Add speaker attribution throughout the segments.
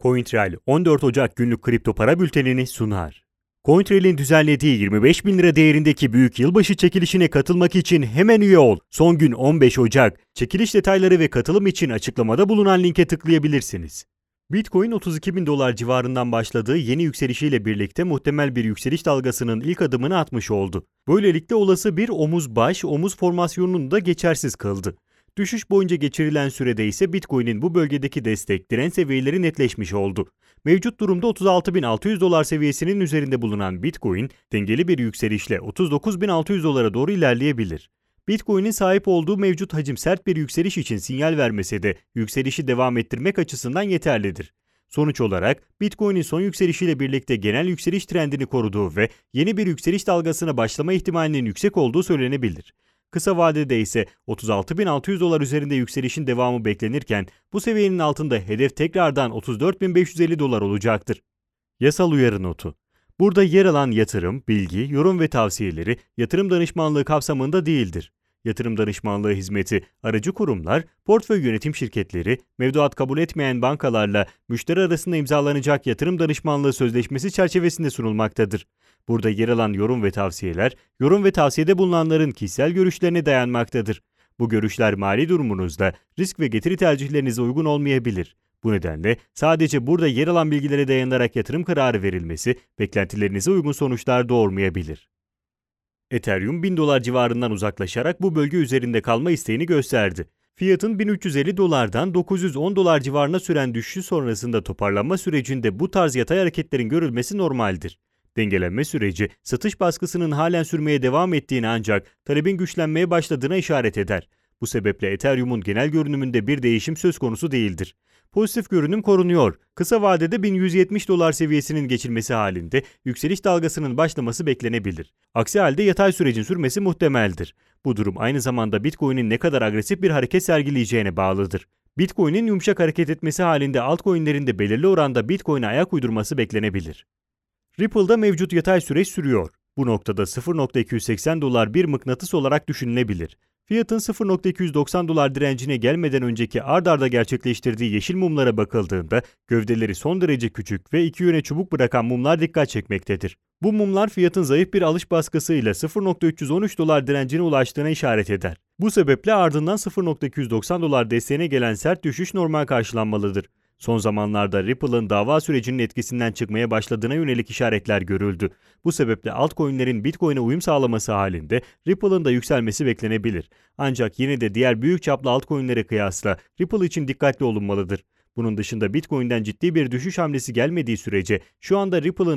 Speaker 1: CoinTrail 14 Ocak günlük kripto para bültenini sunar. CoinTrail'in düzenlediği 25 bin lira değerindeki büyük yılbaşı çekilişine katılmak için hemen üye ol. Son gün 15 Ocak. Çekiliş detayları ve katılım için açıklamada bulunan linke tıklayabilirsiniz. Bitcoin 32 bin dolar civarından başladığı yeni yükselişiyle birlikte muhtemel bir yükseliş dalgasının ilk adımını atmış oldu. Böylelikle olası bir omuz formasyonunu da geçersiz kıldı. Düşüş boyunca geçirilen sürede ise Bitcoin'in bu bölgedeki destek direnç seviyeleri netleşmiş oldu. Mevcut durumda 36.600 dolar seviyesinin üzerinde bulunan Bitcoin, dengeli bir yükselişle 39.600 dolara doğru ilerleyebilir. Bitcoin'in sahip olduğu mevcut hacim sert bir yükseliş için sinyal vermese de yükselişi devam ettirmek açısından yeterlidir. Sonuç olarak Bitcoin'in son yükselişiyle birlikte genel yükseliş trendini koruduğu ve yeni bir yükseliş dalgasına başlama ihtimalinin yüksek olduğu söylenebilir. Kısa vadede ise 36.600 dolar üzerinde yükselişin devamı beklenirken bu seviyenin altında hedef tekrardan 34.550 dolar olacaktır. Yasal uyarı notu. Burada yer alan yatırım, bilgi, yorum ve tavsiyeleri yatırım danışmanlığı kapsamında değildir. Yatırım danışmanlığı hizmeti aracı kurumlar, portföy yönetim şirketleri, mevduat kabul etmeyen bankalarla müşteri arasında imzalanacak yatırım danışmanlığı sözleşmesi çerçevesinde sunulmaktadır. Burada yer alan yorum ve tavsiyeler, yorum ve tavsiyede bulunanların kişisel görüşlerine dayanmaktadır. Bu görüşler mali durumunuzda risk ve getiri tercihlerinize uygun olmayabilir. Bu nedenle sadece burada yer alan bilgilere dayanarak yatırım kararı verilmesi beklentilerinize uygun sonuçlar doğurmayabilir. Ethereum 1000 dolar civarından uzaklaşarak bu bölge üzerinde kalma isteğini gösterdi. Fiyatın 1350 dolardan 910 dolar civarına süren düşüşü sonrasında toparlanma sürecinde bu tarz yatay hareketlerin görülmesi normaldir. Dengelenme süreci satış baskısının halen sürmeye devam ettiğini ancak talebin güçlenmeye başladığına işaret eder. Bu sebeple Ethereum'un genel görünümünde bir değişim söz konusu değildir. Pozitif görünüm korunuyor. Kısa vadede 1170 dolar seviyesinin geçilmesi halinde yükseliş dalgasının başlaması beklenebilir. Aksi halde yatay sürecin sürmesi muhtemeldir. Bu durum aynı zamanda Bitcoin'in ne kadar agresif bir hareket sergileyeceğine bağlıdır. Bitcoin'in yumuşak hareket etmesi halinde altcoin'lerin de belirli oranda Bitcoin'e ayak uydurması beklenebilir. Ripple'da mevcut yatay süreç sürüyor. Bu noktada 0.280 dolar bir mıknatıs olarak düşünülebilir. Fiyatın 0.290 dolar direncine gelmeden önceki ard arda gerçekleştirdiği yeşil mumlara bakıldığında gövdeleri son derece küçük ve iki yöne çubuk bırakan mumlar dikkat çekmektedir. Bu mumlar fiyatın zayıf bir alış baskısıyla 0.313 dolar direncine ulaştığına işaret eder. Bu sebeple ardından 0.290 dolar desteğine gelen sert düşüş normal karşılanmalıdır. Son zamanlarda Ripple'ın dava sürecinin etkisinden çıkmaya başladığına yönelik işaretler görüldü. Bu sebeple altcoin'lerin Bitcoin'e uyum sağlaması halinde Ripple'ın da yükselmesi beklenebilir. Ancak yine de diğer büyük çaplı altcoin'lere kıyasla Ripple için dikkatli olunmalıdır. Bunun dışında Bitcoin'den ciddi bir düşüş hamlesi gelmediği sürece şu anda Ripple'ın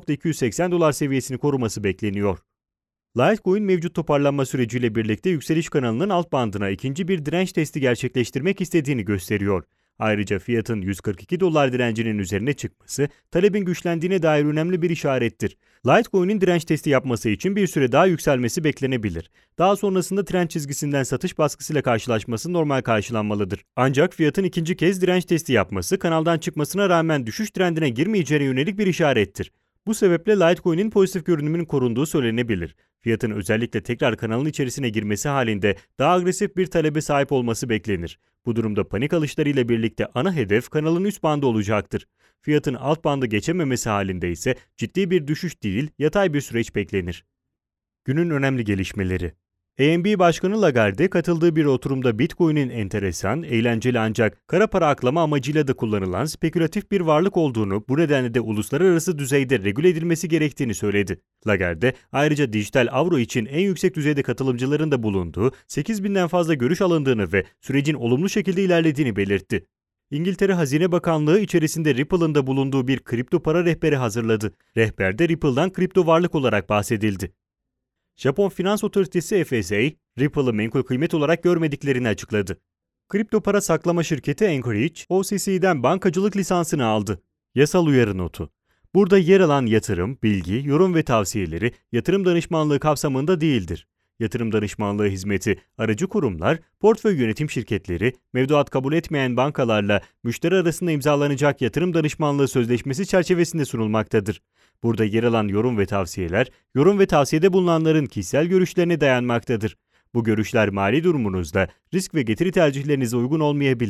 Speaker 1: 0.280 dolar seviyesini koruması bekleniyor. Litecoin mevcut toparlanma süreciyle birlikte yükseliş kanalının alt bandına ikinci bir direnç testi gerçekleştirmek istediğini gösteriyor. Ayrıca fiyatın 142 dolar direncinin üzerine çıkması talebin güçlendiğine dair önemli bir işarettir. Litecoin'in direnç testi yapması için bir süre daha yükselmesi beklenebilir. Daha sonrasında trend çizgisinden satış baskısıyla karşılaşması normal karşılanmalıdır. Ancak fiyatın ikinci kez direnç testi yapması kanaldan çıkmasına rağmen düşüş trendine girmeyeceğine yönelik bir işarettir. Bu sebeple Litecoin'in pozitif görünümünün korunduğu söylenebilir. Fiyatın özellikle tekrar kanalın içerisine girmesi halinde daha agresif bir talebe sahip olması beklenir. Bu durumda panik alışlarıyla birlikte ana hedef kanalın üst bandı olacaktır. Fiyatın alt bandı geçememesi halinde ise ciddi bir düşüş değil, yatay bir süreç beklenir. Günün önemli gelişmeleri. ENB Başkanı Lagarde katıldığı bir oturumda Bitcoin'in enteresan, eğlenceli ancak kara para aklama amacıyla da kullanılan spekülatif bir varlık olduğunu, bu nedenle de uluslararası düzeyde regüle edilmesi gerektiğini söyledi. Lagarde ayrıca dijital avro için en yüksek düzeyde katılımcıların da bulunduğu 8.000'den fazla görüş alındığını ve sürecin olumlu şekilde ilerlediğini belirtti. İngiltere Hazine Bakanlığı içerisinde Ripple'ın da bulunduğu bir kripto para rehberi hazırladı. Rehberde Ripple'dan kripto varlık olarak bahsedildi. Japon Finans Otoritesi FSA, Ripple'ı menkul kıymet olarak görmediklerini açıkladı. Kripto para saklama şirketi Anchorage, OCC'den bankacılık lisansını aldı. Yasal uyarı notu. Burada yer alan yatırım, bilgi, yorum ve tavsiyeleri yatırım danışmanlığı kapsamında değildir. Yatırım danışmanlığı hizmeti aracı kurumlar, portföy yönetim şirketleri, mevduat kabul etmeyen bankalarla müşteri arasında imzalanacak yatırım danışmanlığı sözleşmesi çerçevesinde sunulmaktadır. Burada yer alan yorum ve tavsiyeler, yorum ve tavsiyede bulunanların kişisel görüşlerine dayanmaktadır. Bu görüşler mali durumunuzda risk ve getiri tercihlerinize uygun olmayabilir.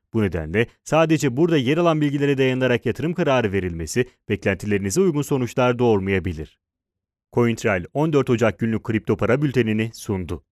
Speaker 1: Bu nedenle sadece burada yer alan bilgilere dayanarak yatırım kararı verilmesi beklentilerinize uygun sonuçlar doğurmayabilir. CoinTrail 14 Ocak günlük kripto para bültenini sundu.